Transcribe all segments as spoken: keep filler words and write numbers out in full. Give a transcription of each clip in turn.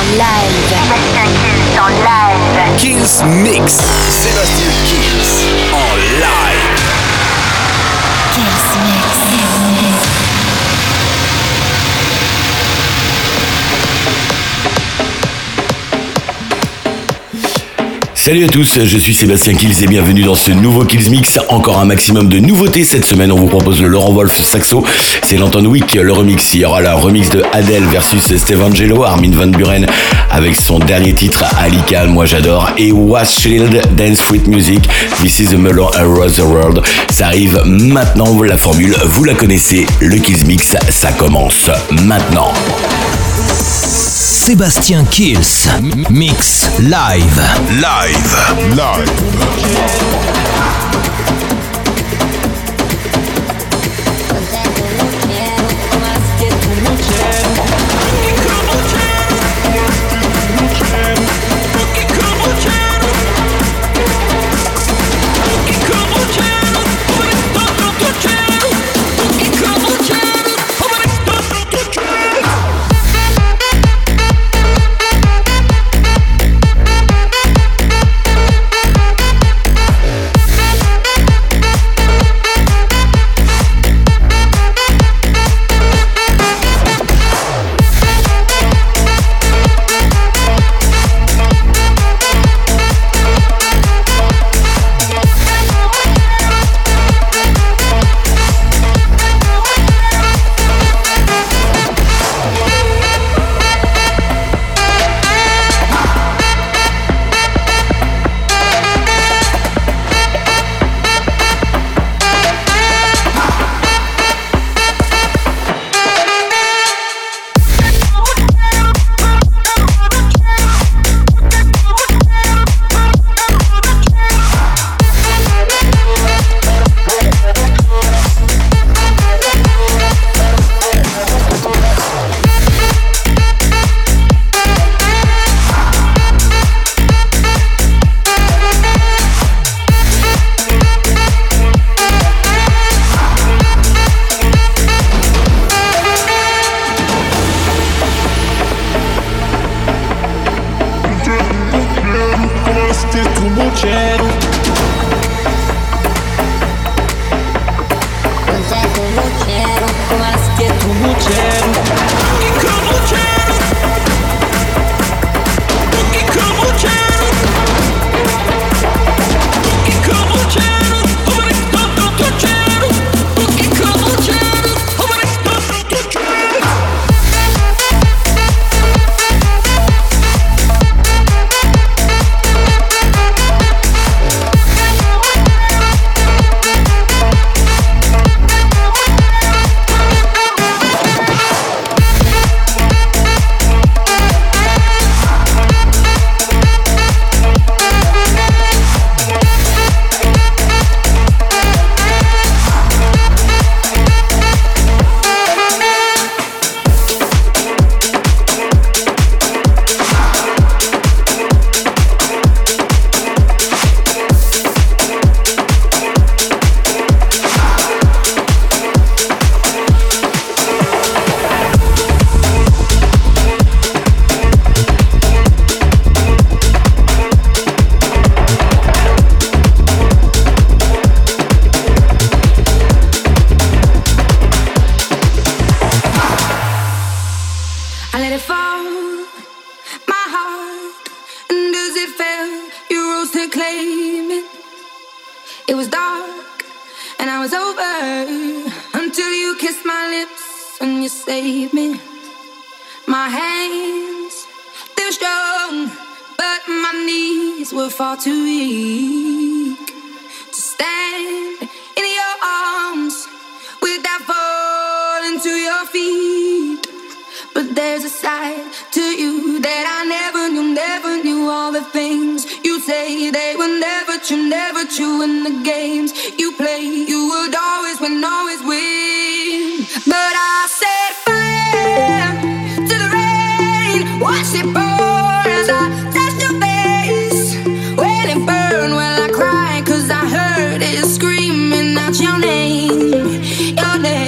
live. Sébastien Kills en live. Kills Mix. Sébastien Kills en live. Kills Mix. Salut à tous, je suis Sébastien Kills et bienvenue dans ce nouveau Kills Mix. Encore un maximum de nouveautés cette semaine. On vous propose le Laurent Wolf saxo. C'est l'Anton Wick, le remix. Il y aura la remix de Adele versus Steve Angelo, Armin van Buren avec son dernier titre Alika, moi j'adore. Et Washfield, Dance Fruit Music, This is the Mellow Around the World. Ça arrive maintenant, la formule, vous la connaissez. Le Kills Mix, ça commence maintenant. Sébastien Kills Mix Live. Live. Live.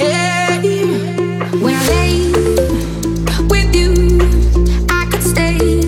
When I lay with you, I could stay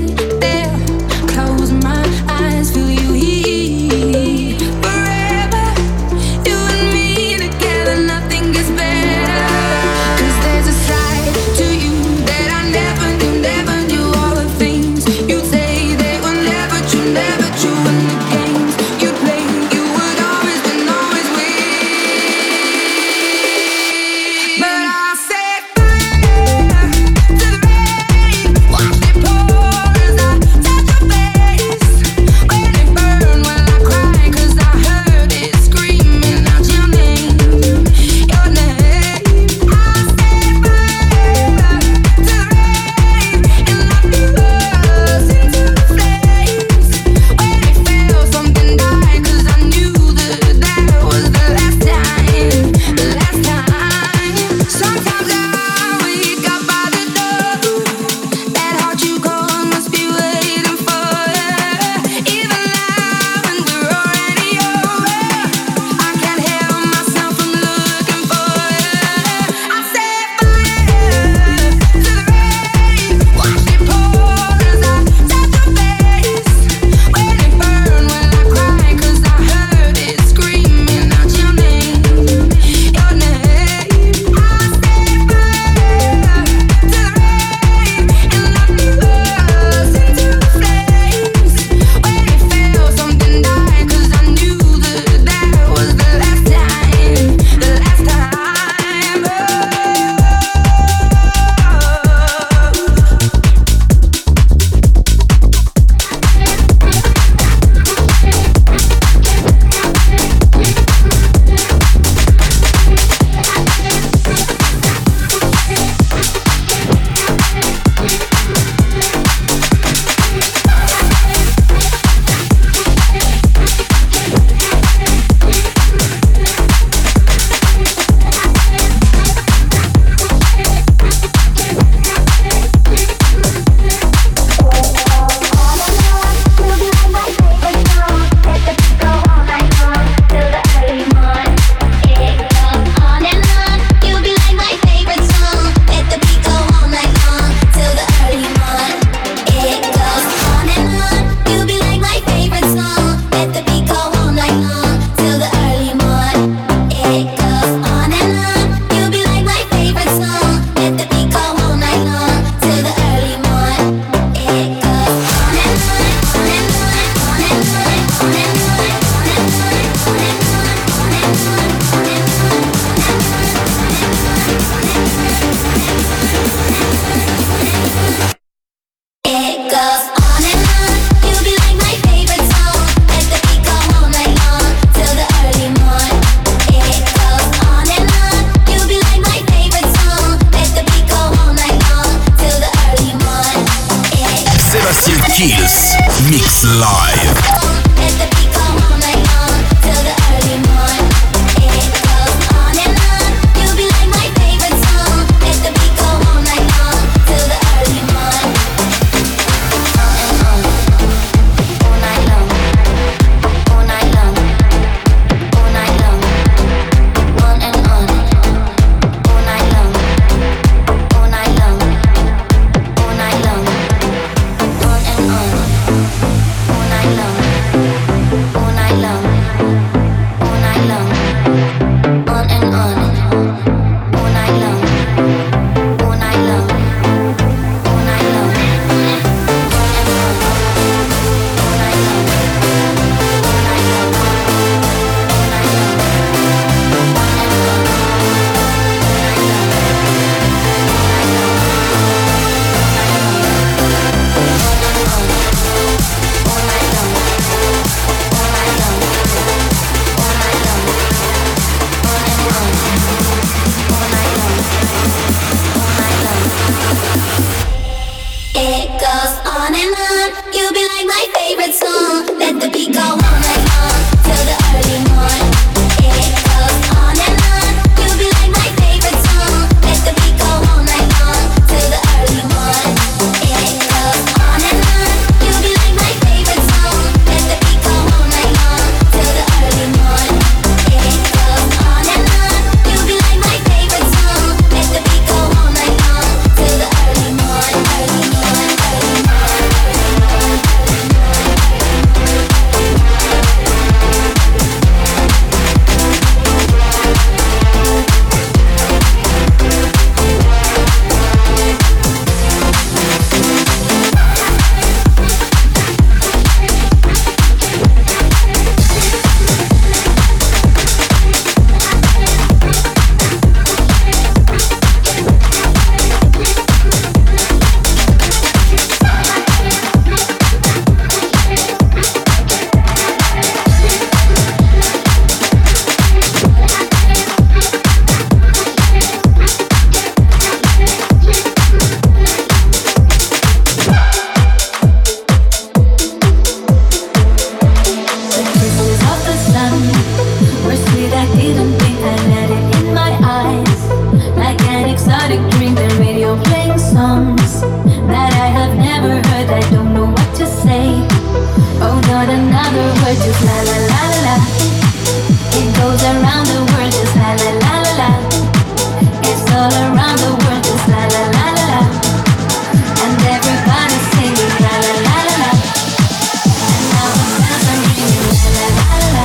another word, just la la la la la. It goes around the world, just la la la la la. It's all around the world, just la la la la la. And everybody's singing la la la la la. And now the bells are ringing la la la la la.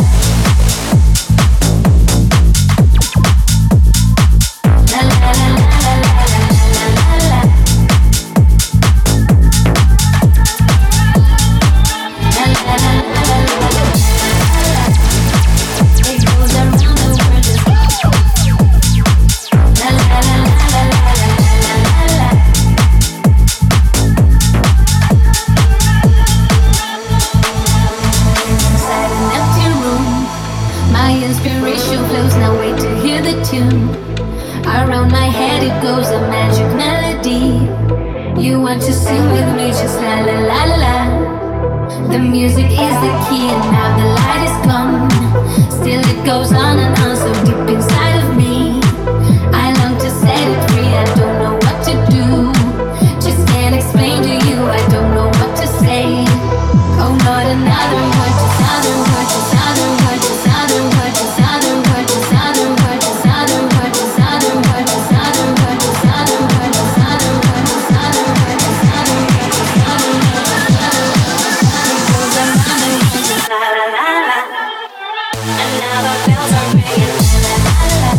La la la la la la la la la la. La la la la la la la. It goes around the world just la la la la la la la la la. Inside an empty room, my inspiration flows. Now wait to hear the tune. Around my head it goes a magic melody. You want to sing with me, just la la la la la. The music is the key and now the light is gone. Still it goes on and on so deep inside of me. I long to set it free, I don't know what to do. Just can't explain to you, I don't know what to say. Oh, not another word, just other word, just other word, just other word, just other word, just other word, just other word, just other word, just other word, just other word, just other word, just other word, just other word, just other word, just other word. It goes around the world, just la la la la. And now the bells are ringing la la la la.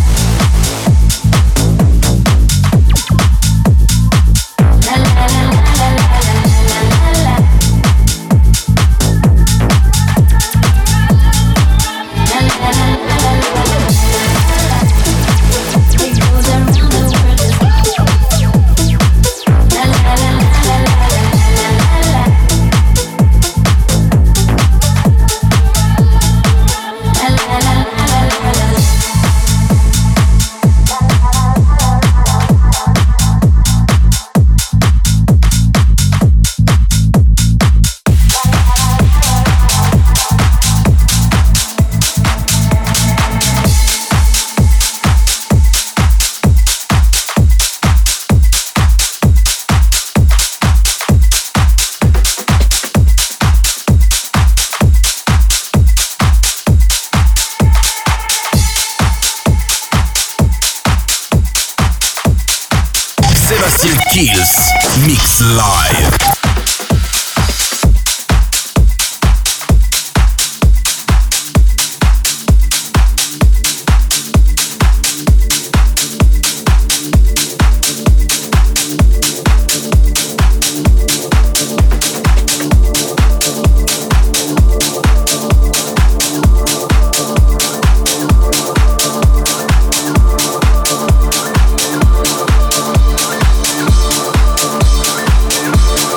La la la la la la la la la. La la la la la la la. It goes around the world just la la la la la la la la. La la la la la la la. Sébastien Kills, Mix Live. La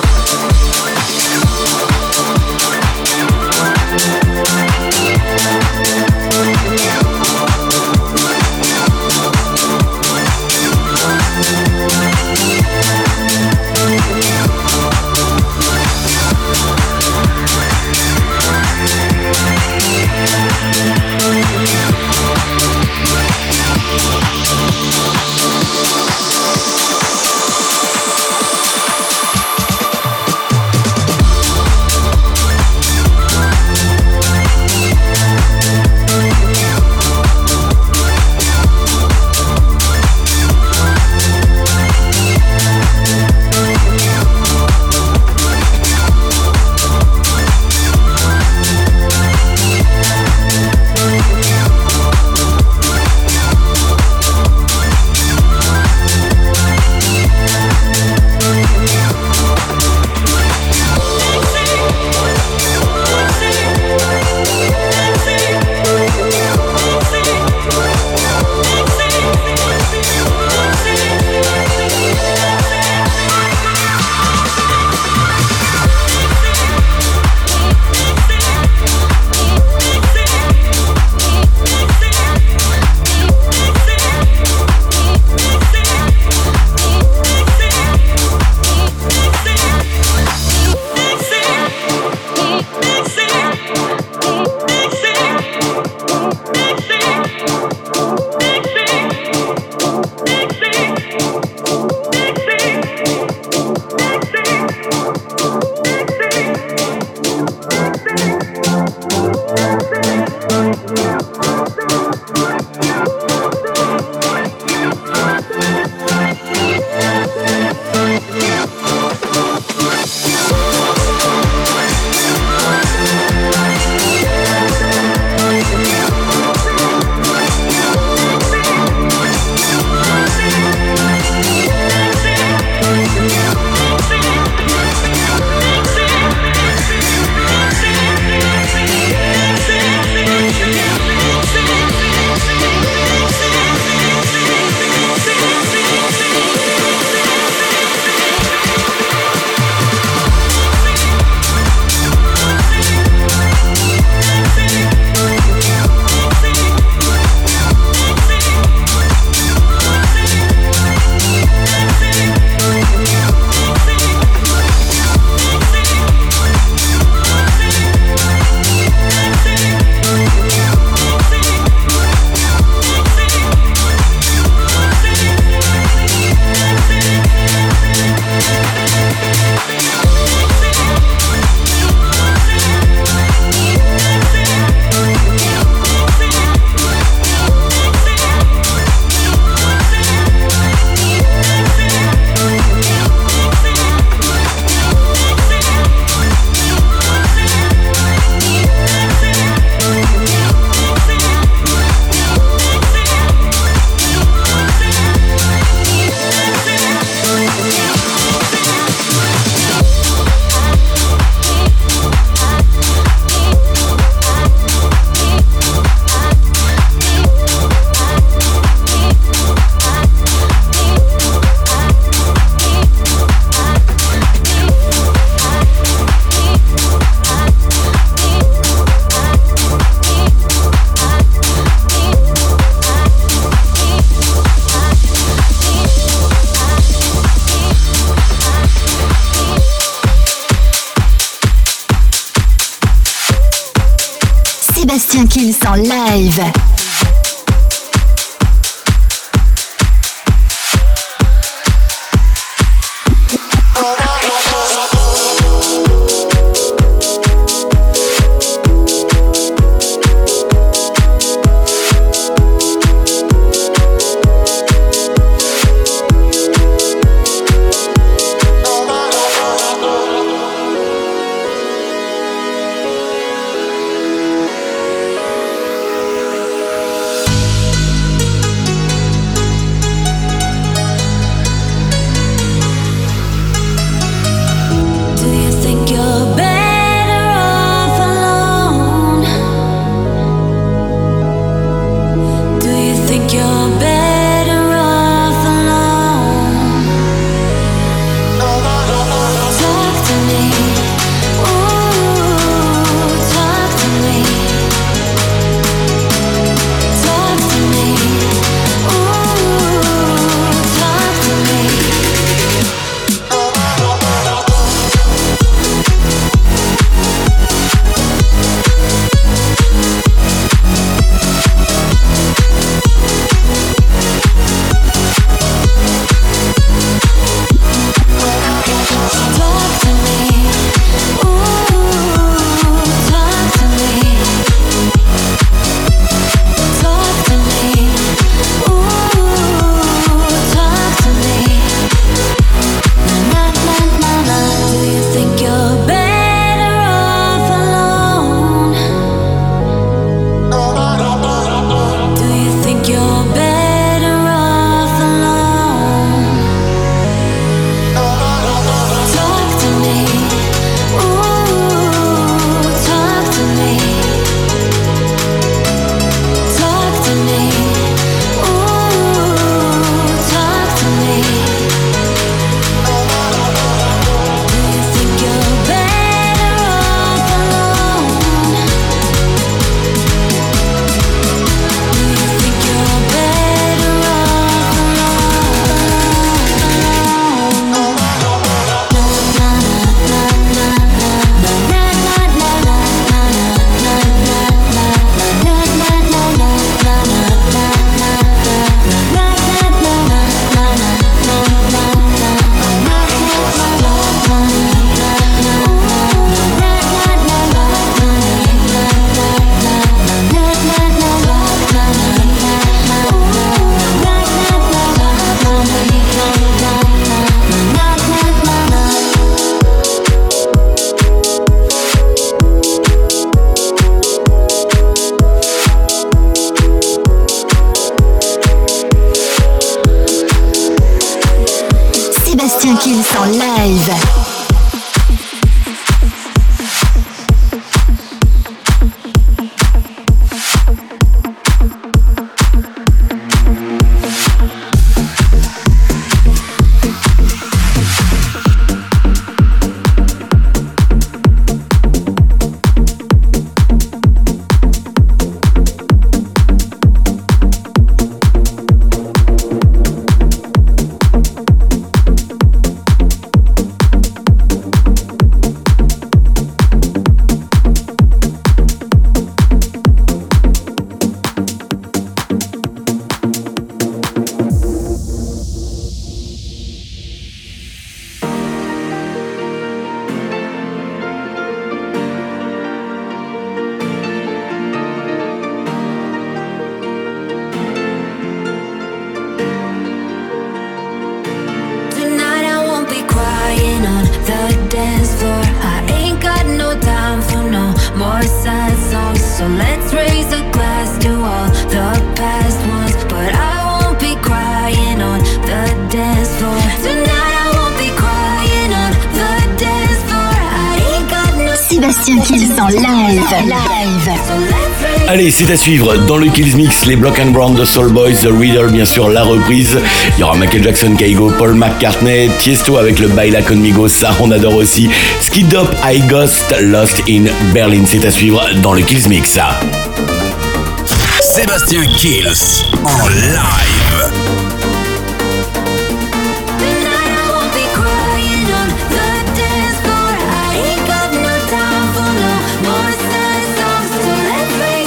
Sébastien Kills en live. Sébastien Kills en live. Sébastien Kills en live. live. Allez, c'est à suivre dans le Kills Mix, les Block and Brown de Soul Boys, The Riddle, bien sûr la reprise. Il y aura Michael Jackson, Kaigo, Paul McCartney, Tiesto avec le Baila Conmigo, ça on adore aussi. Skid Up, I Ghost, Lost in Berlin, c'est à suivre dans le Kills Mix. Sébastien Kills en live. Let's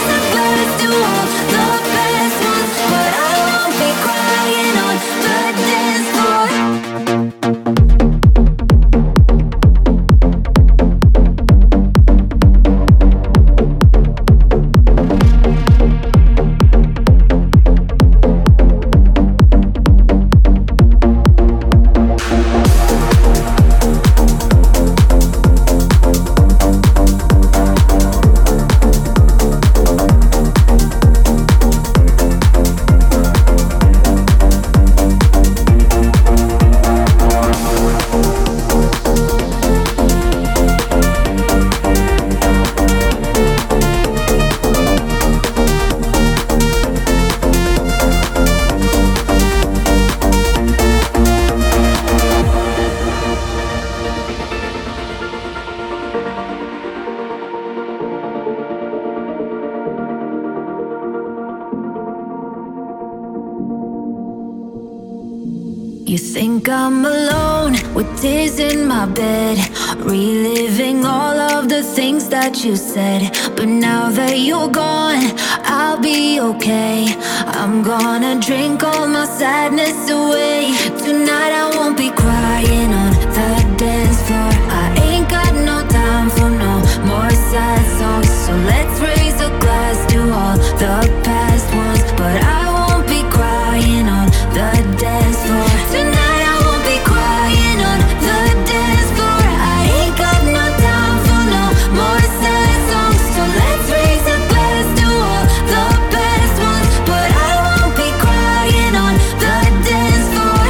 You think I'm alone with tears in my bed, reliving all of the things that you said. But now that you're gone, I'll be okay. I'm gonna drink all my sadness away. Tonight I won't be crying on the dance floor. I ain't got no time for no more sad songs. So let's raise a glass to all the past ones. But I won't be crying on the dance floor. Tonight I won't be crying on the dance floor. I ain't got no time for no more sad songs. So let's raise a glass to all the past ones. But I won't be crying on the dance floor.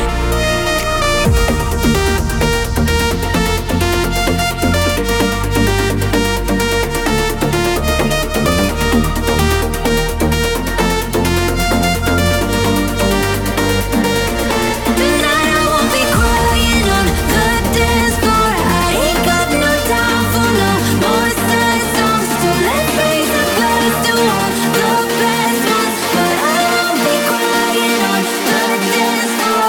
Tonight I won't be crying on the dance floor. I ain't got no time for no more sad songs. So let's raise a glass to all the best ones. But I won't be crying on the dance floor.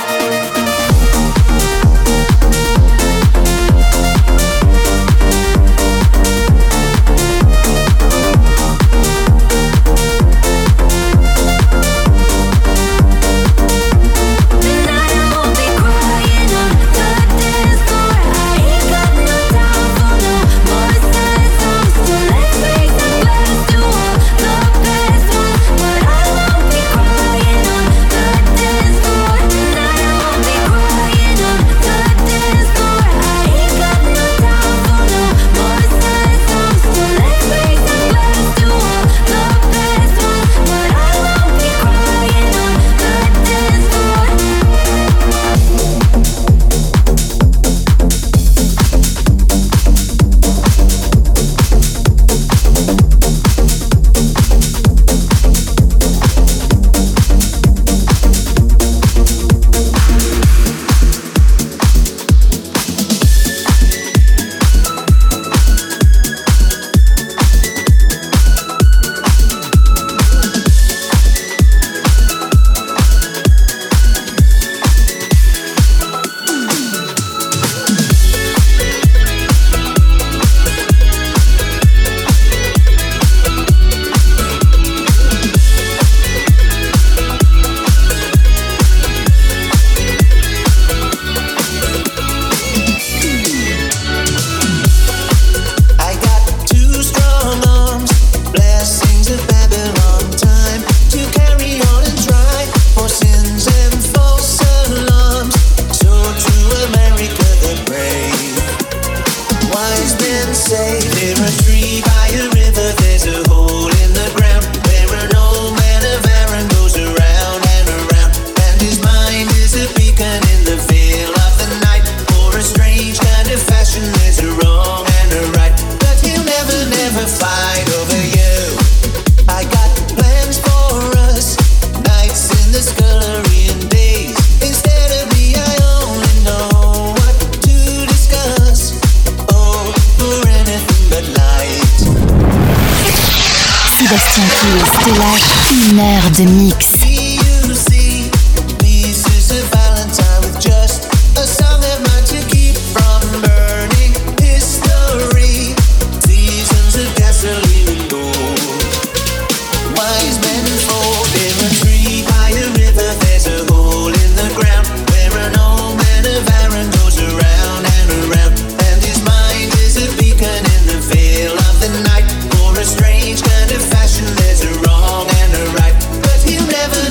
Tonight I won't be crying on the dance floor. I ain't got no time for no more sad songs. So let's raise a glass to all the best ones. But I won't be crying on the dance floor. Tonight I won't be crying on the dance floor. I ain't got no time for no more sad songs. So let's raise a glass to all the best ones. But I won't be crying on the dance floor. I got two strong arms, blessings of Babylon, time to carry on and try for sins and false alarms. So to America the brave, wise men say near a tree by a river there's a hole in the ground where an old man of Aaron goes around and around, and his mind is a beacon in the veil of the night. For a strange kind of fashion there's a wrong and a right, but he'll never, never fight over you. I got plans for us, nights in the scullery and days. Instead of me I only know what to discuss. Oh, for anything but light. Sébastien Kills te lâche une heure de mix. You see, pieces of Valentine with just a song of mine to keep from burning history. Seasons of gasoline and gold. Wise men fold in a tree by a river. There's a hole in the ground where an old man of Aaron goes around and around, and his mind is a beacon in the veil of the night. For a strange kind of fashion, there's a wrong and a right, but he'll never,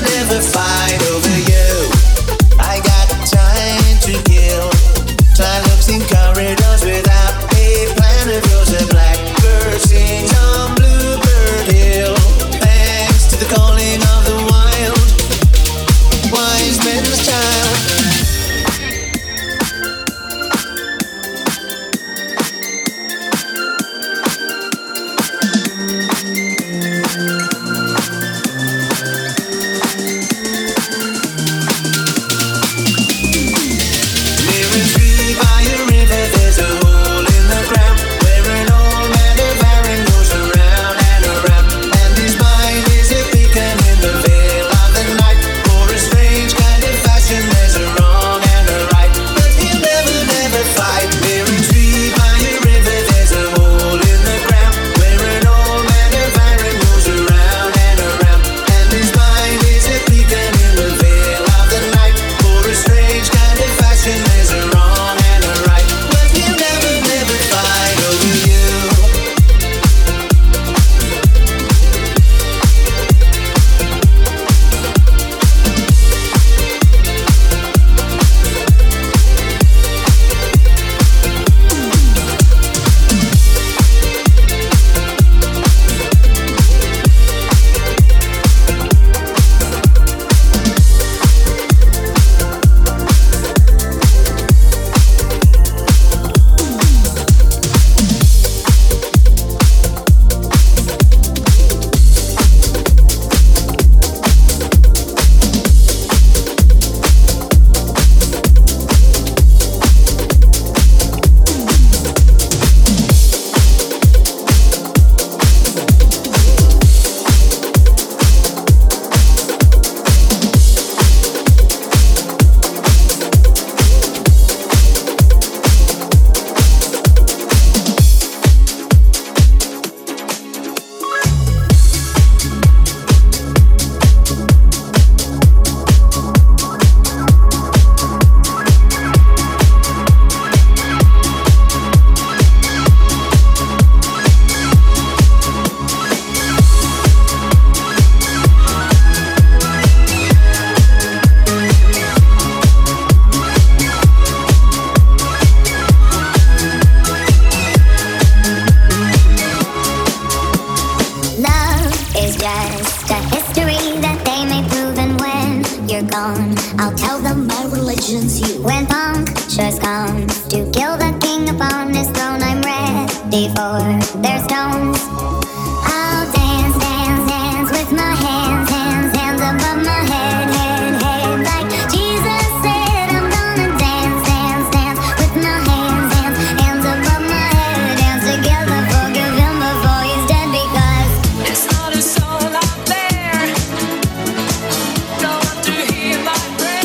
gone, I'll tell them my religion's you. When punctures come to kill the king upon his throne, I'm ready for their stones. I'll dance, dance, dance with my hands, hands, hands above my head, head, head. Like Jesus said, I'm gonna dance, dance, dance with my hands, hands, hands above my head. Dance together, forgive him before he's dead, because It's not a soul out there, no one to hear my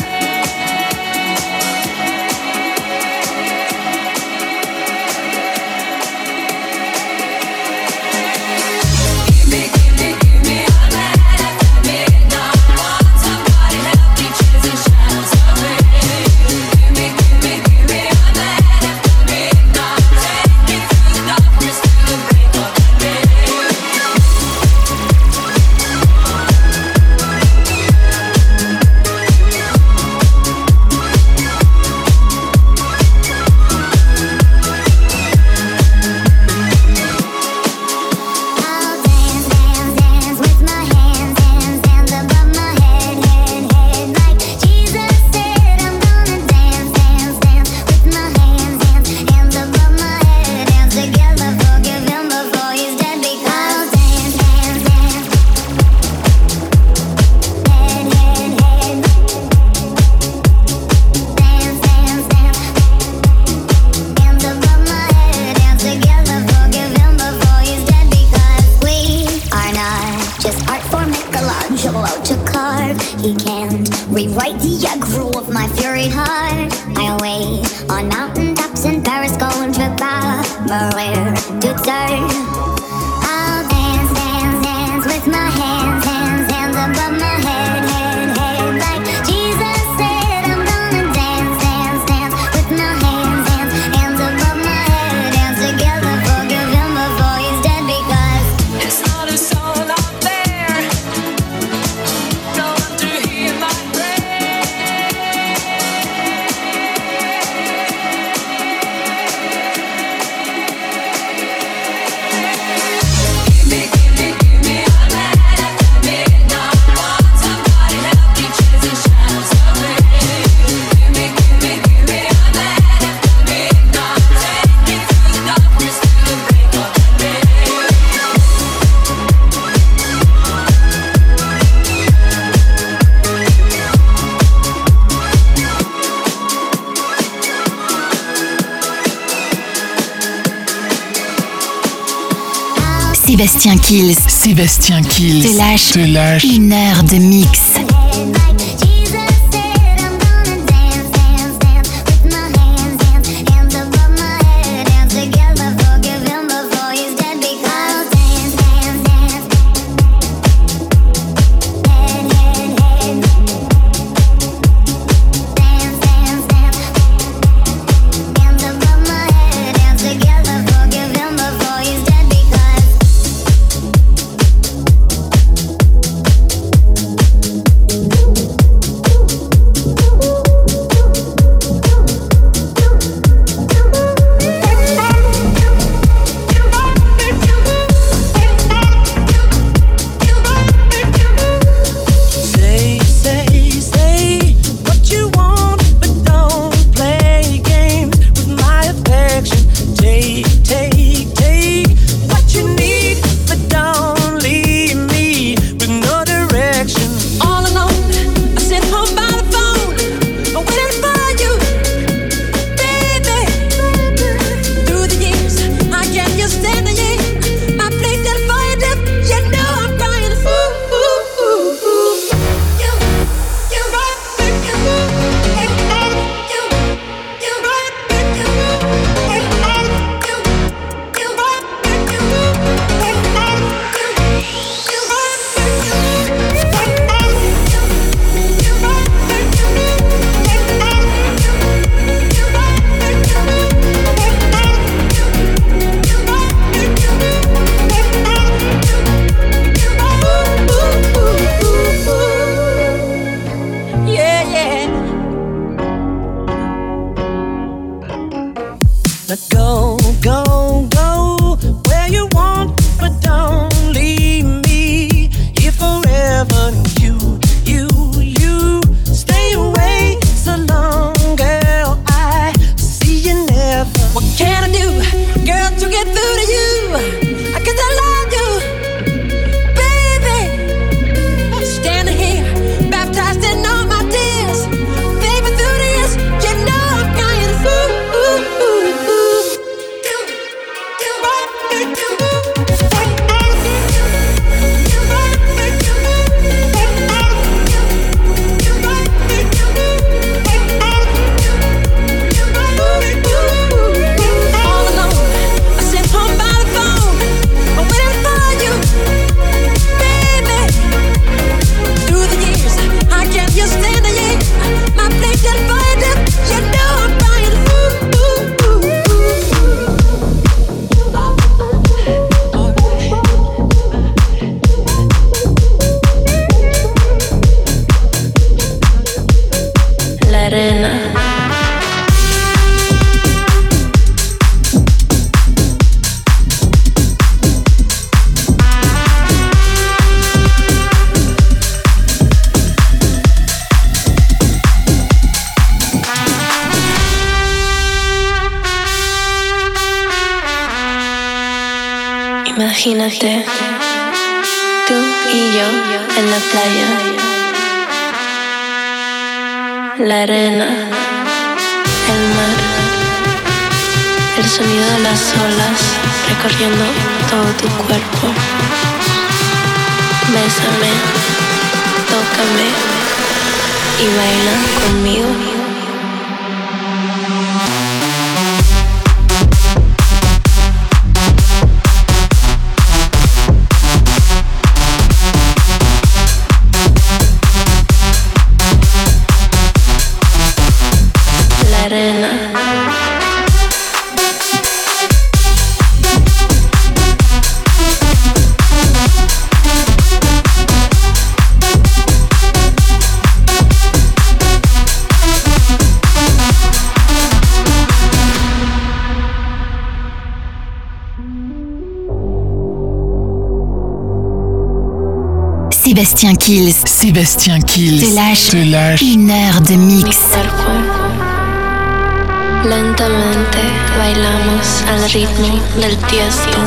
he can't rewrite the aggro of my fury heart. I away on mountain tops in Paris, going to Maria to turn. I'll dance, dance, dance with my hands, hands, hands above my head, head, head. Like Jesus said, I'm gonna dance, dance, dance with my hands, hands, hands above my head. Dance together, forgive him before he's dead, because It's not a soul out there, no one to hear my Sébastien Kills Sébastien Kills te lâche, te lâche une heure de mix. Imagínate, tú y yo en la playa, la arena, el mar, el sonido de las olas recorriendo todo tu cuerpo. Bésame, tócame y baila conmigo. Sébastien Kills. Sébastien Kills. Te lâche, te lâche une heure de mix. Lentamente bailamos al ritmo del tiesto.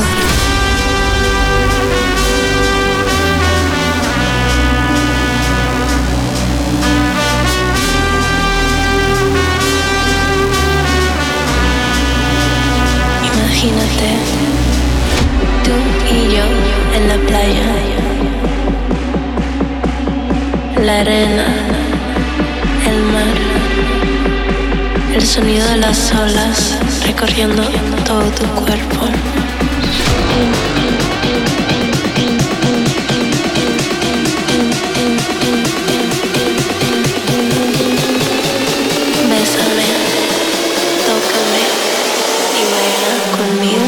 Imagínate, tú y yo en la playa, la arena, el mar, el sonido de las olas recorriendo todo tu cuerpo. Bésame, tócame y baila conmigo.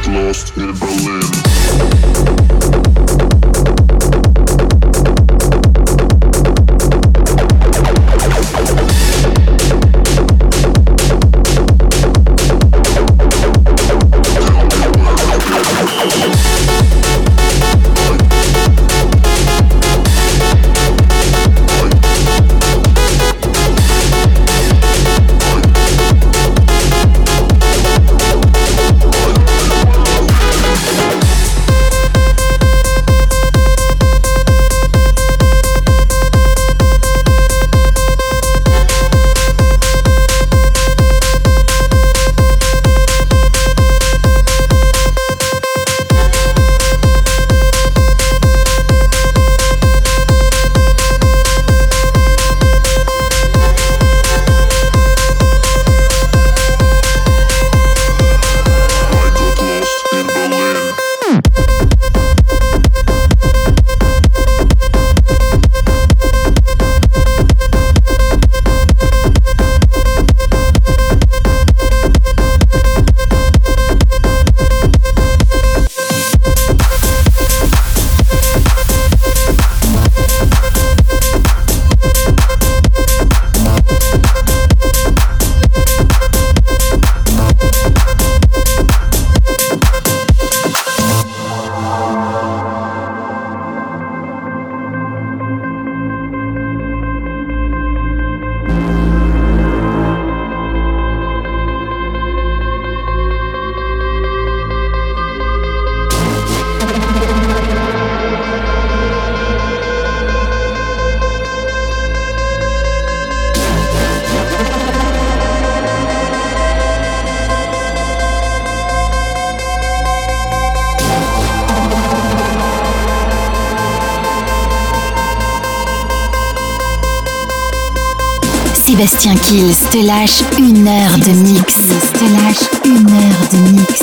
lost in Berlin. Sébastien Kills te lâche une heure de mix. Te lâche une heure de mix.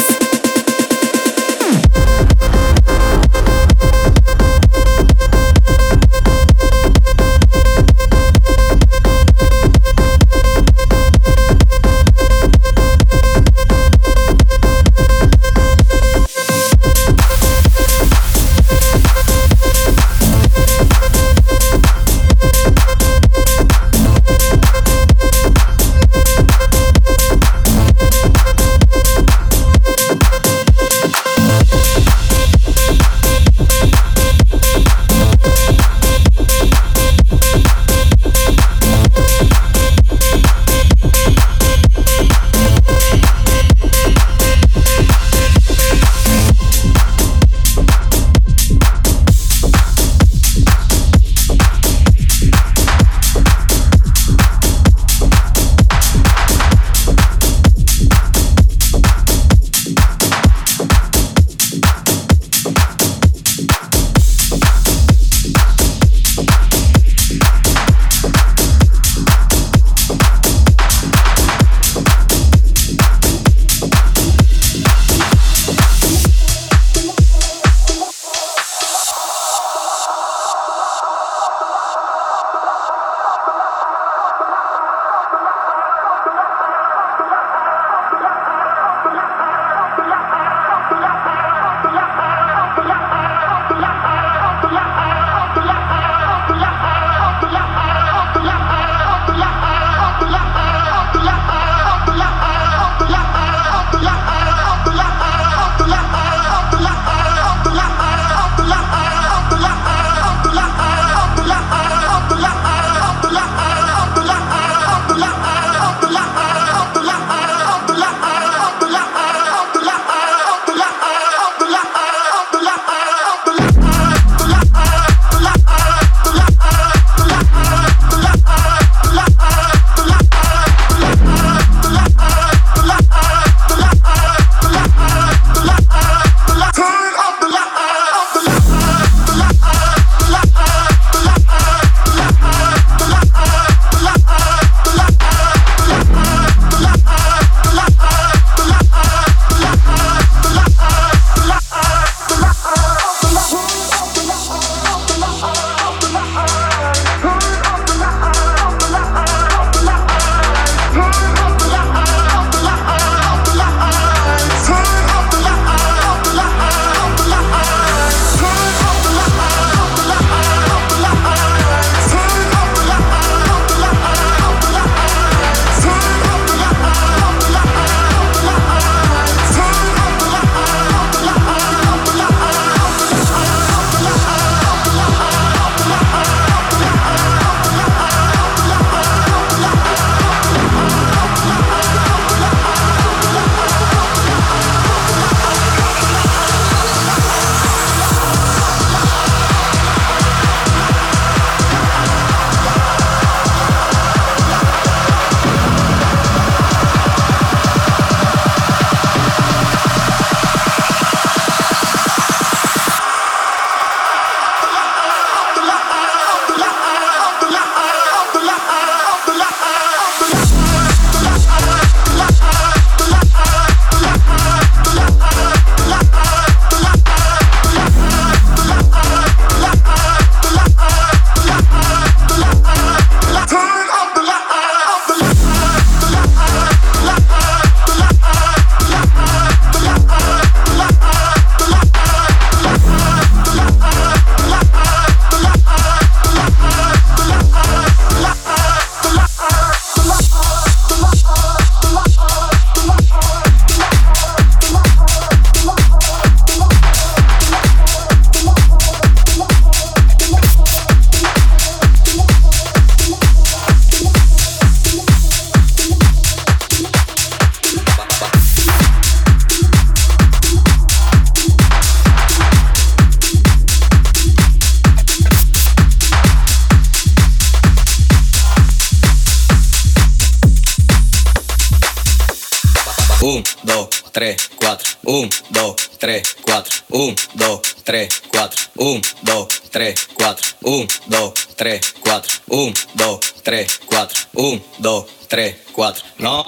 un, dos, tres, cuatro, un, dos, tres, cuatro, un, dos, tres, cuatro, un, dos, tres, cuatro, un, dos, tres, cuatro, un, dos, tres, cuatro, un, dos, tres, cuatro. No.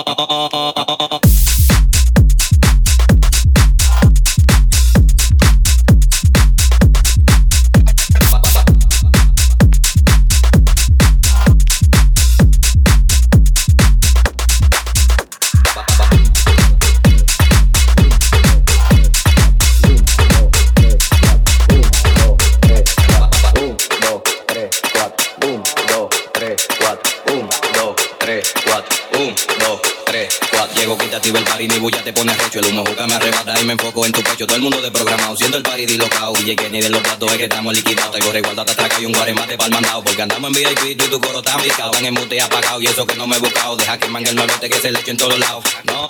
El party ni bulla te pone recho. El humo juca me arrebata y me enfoco en tu pecho. Todo el mundo de programado, siendo el party dislocado. D J Kenny de los platos es que estamos liquidados. Tengo resguardo hasta atraca y un guaremate pa'l mandado. Porque andamos en V I P y tu coro está picado. Están en mute y apagado y eso que no me he buscado. Deja que mangue el malote que se le eche en todos lados. No.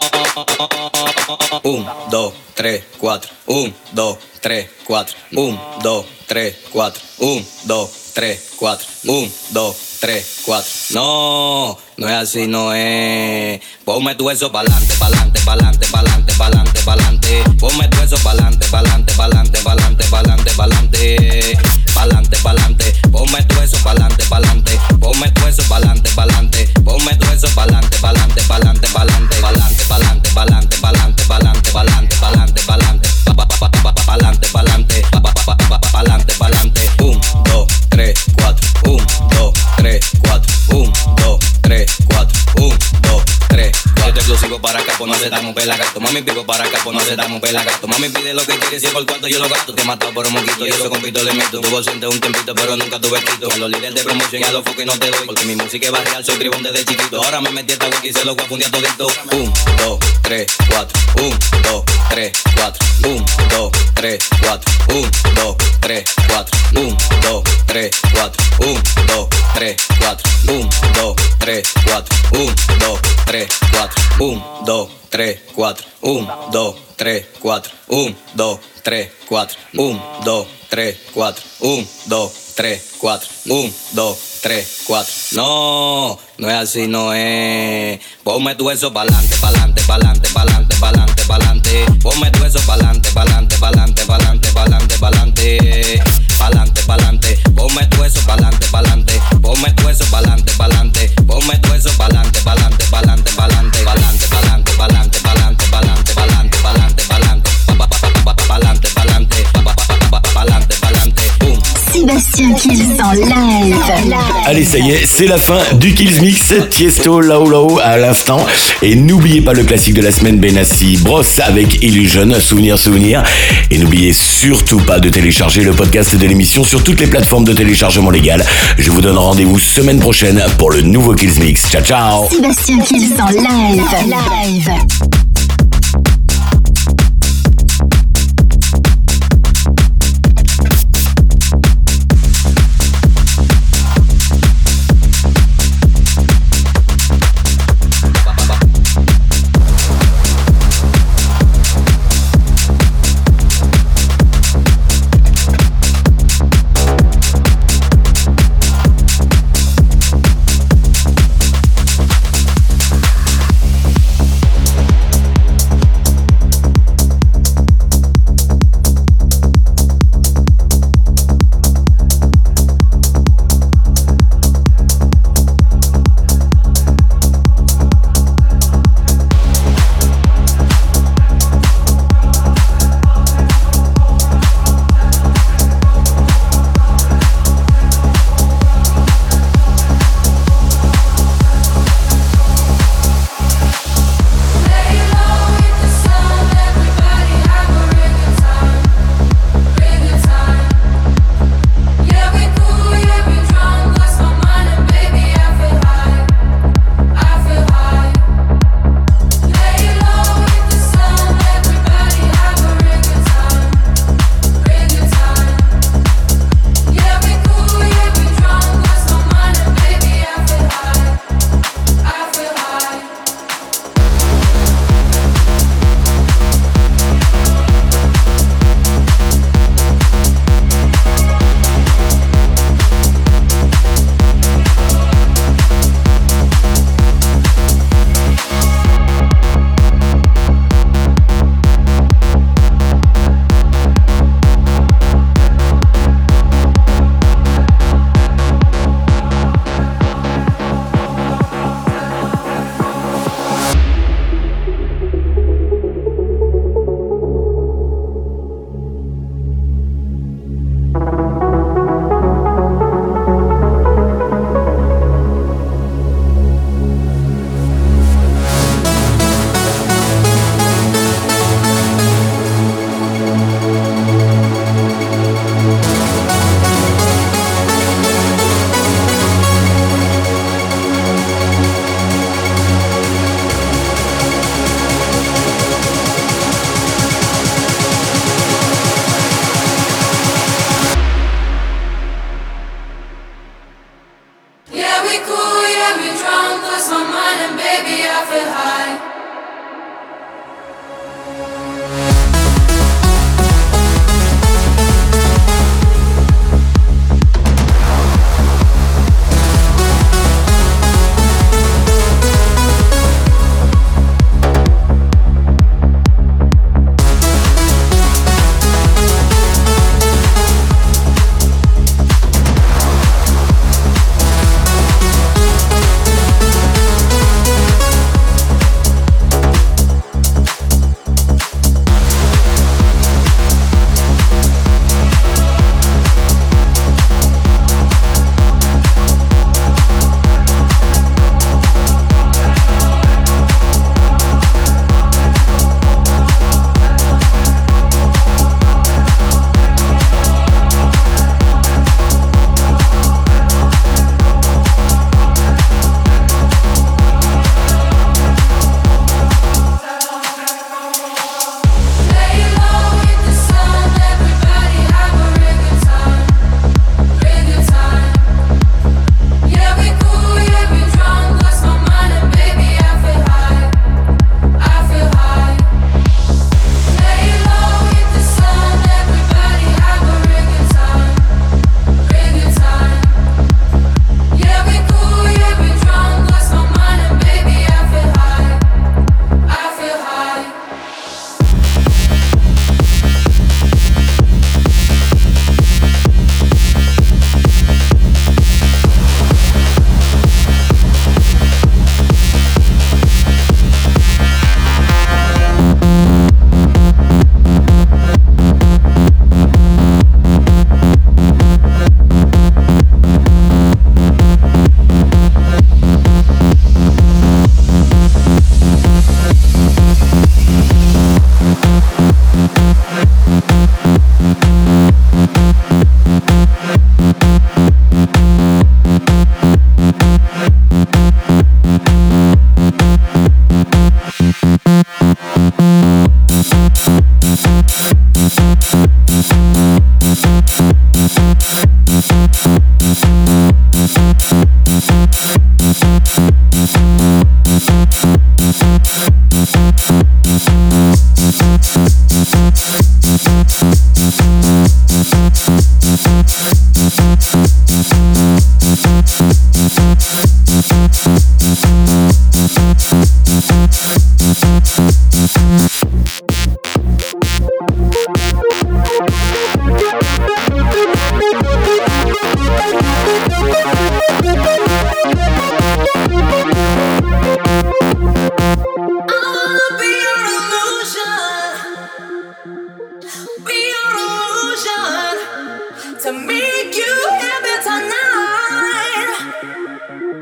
Un, dos, tres, cuatro. Un, dos, tres, cuatro. Un, dos, tres, cuatro. Un, dos, tres, cuatro. Un, dos, tres, cuatro. No, no es así, no es. Ponme tu eso pa'lante, pa'lante, pa'lante, pa'lante, pa'lante, pa'lante. Ponme tu eso pa'lante, pa'lante, pa'lante, pa'lante, pa'lante, pa'lante. Pa'lante, pa'lante. Ponme tu eso pa'lante, pa'lante. Ponme tu eso pa'lante, pa'lante. Ponme tu eso pa'lante, pa'lante, pa'lante, pa'lante, pa'lante, pa'lante, pa'lante, pa'lante, pa'lante, pa'lante, pa'lante, pa'lante, pa'lante, pa'lante, pa'lante, pa'lante. Un, dos, tres, cuatro. Un, dos, tres, cuatro. Un, dos, tres, cuatro. Un, dos, tres, cuatro. Exclusivo para acá, pues no aceptamos pelagato. Mami, pico para acá, pues no aceptamos pelagato. Mami, pide lo que quieres y por cuarto yo lo gasto. Te he matado por un moquito y eso con pito le meto. Tuvo ausente un tiempito, pero nunca tuve quito. A los líderes de promoción y a los focos no te doy. Porque mi música es barrial, soy tribón desde chiquito. Ahora me metí esta wiki y se lo voy a fundir todito. Un, dos, tres, cuatro. Un, dos, tres, cuatro. Un, dos, tres, cuatro. Un, dos, tres, cuatro. Un, dos, tres, cuatro. Un, dos, tres, cuatro. Un, dos, tres, cuatro. Un, dos, tres, cuatro. Un, dos, tres, cuatro. Un, dos, tres, cuatro. Un, dos, tres, cuatro. Un, dos, tres, cuatro. Un, dos, tres, cuatro. Un, dos, tres, cuatro. No, no es así, no es. Ponme tu eso pa'lante, pa'lante, pa'lante, pa'lante, pa'lante, pa'lante. Ponme tu eso pa'lante, pa'lante, pa'lante, pa'lante, pa'lante, pa'lante. Pa'lante, pa'lante. Ponme tu eso pa'lante, pa'lante. Ponme tu eso pa'lante, pa'lante. Ponme tu eso pa'lante, pa'lante, pa'lante, pa'lante, pa'lante, pa'lante, pa'lante, pa'lante, pa'lante, pa'lante, pa'lante, pa'lante, pa'lante, pa'lante, pa'lante, pa'lante. Sébastien Kills en live. Allez, ça y est, c'est la fin du Kills Mix. Tiesto, Lao Lao à l'instant. Et n'oubliez pas le classique de la semaine, Benassi Bros avec Illusion, souvenir, souvenir. Et n'oubliez surtout pas de télécharger le podcast de l'émission sur toutes les plateformes de téléchargement légal. Je vous donne rendez-vous semaine prochaine pour le nouveau Kills Mix. Ciao, ciao. Sébastien Kills en live. Live.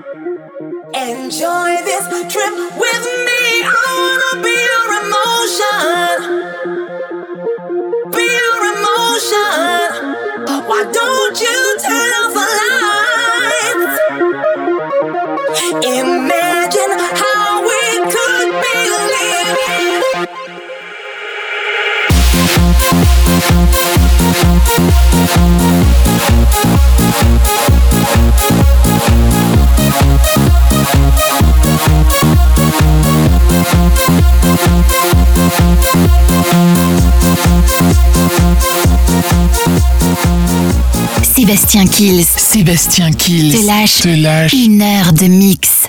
Enjoy this trip with me. I wanna be your emotion. Be your emotion. Why don't you turn off the lights? Imagine how we could be living. Sébastien Kills Sébastien Kills te lâche te lâche une heure de mix.